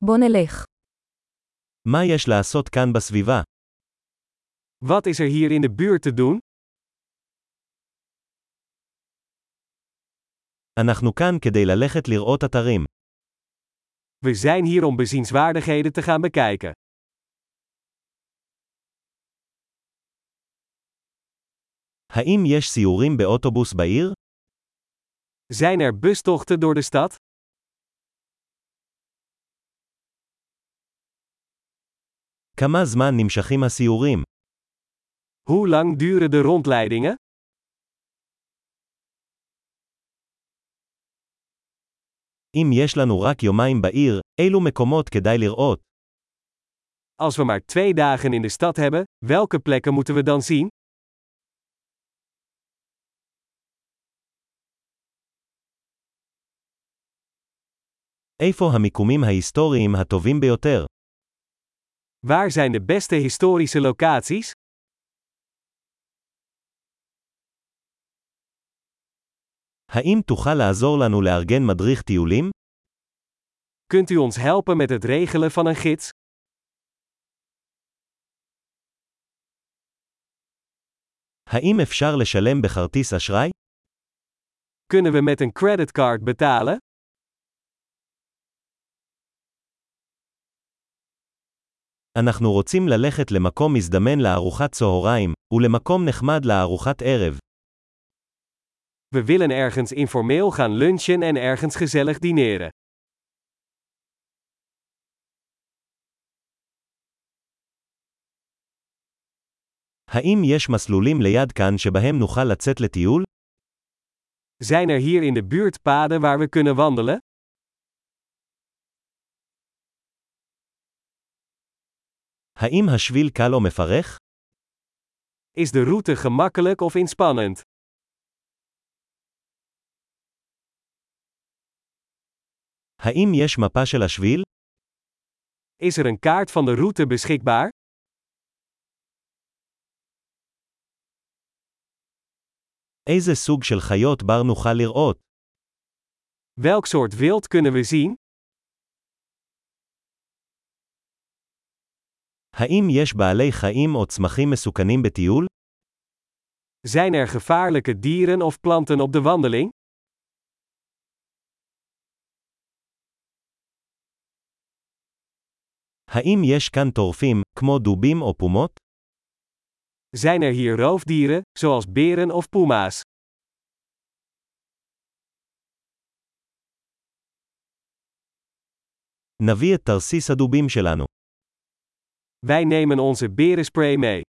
בוא נלך. מה יש לעשות כאן בסביבה? Wat is er hier in de buurt te doen? אנחנו כאן כדי ללכת לראות אתרים. We zijn hier om bezienswaardigheden te gaan bekijken. האם יש סיורים באוטובוס בעיר? Zijn er bustochten door de stad? כמה זמן נמשכים הסיורים? Hoe lang duren de rondleidingen? אם יש לנו רק יומיים בעיר, אילו מקומות כדאי לראות? Als we maar 2 dagen in de stad hebben, welke plekken moeten we dan zien? איפה המיקומים ההיסטוריים הטובים ביותר? Waar zijn de beste historische locaties? האם תוכל לעזור לנו לארגן מדריך טיולים? Kunt u ons helpen met het regelen van een gids? האם אפשר לשלם בכרטיס אשראי? Kunnen we met een creditcard betalen? אנחנו רוצים ללכת למקום מזדמן לארוחת צהריים, ולמקום נחמד לארוחת ערב. We willen ergens informeel gaan lunchen en ergens gezellig dineren. האם יש מסלולים ליד כאן שבהם נוכל לצאת לטיול? Zijn er hier in de buurt paden waar we kunnen wandelen? האם השביל קל או מפרך? Is de route gemakkelijk of inspannend? האם יש מפה של השביל? Is er een kaart van de route beschikbaar? איזה סוג של חיות בר נוכל לראות? Welk soort wild kunnen we zien? האם יש בעלי חיים או צמחים מסוכנים בטיול? Zijn er gevaarlijke dieren of planten op de wandeling? האם יש כאן טורפים, כמו דובים או פומות? Zijn er hier roofdieren, zoals beren of puma's? נביא את תרסיס הדובים שלנו. Wij nemen onze berenspray mee.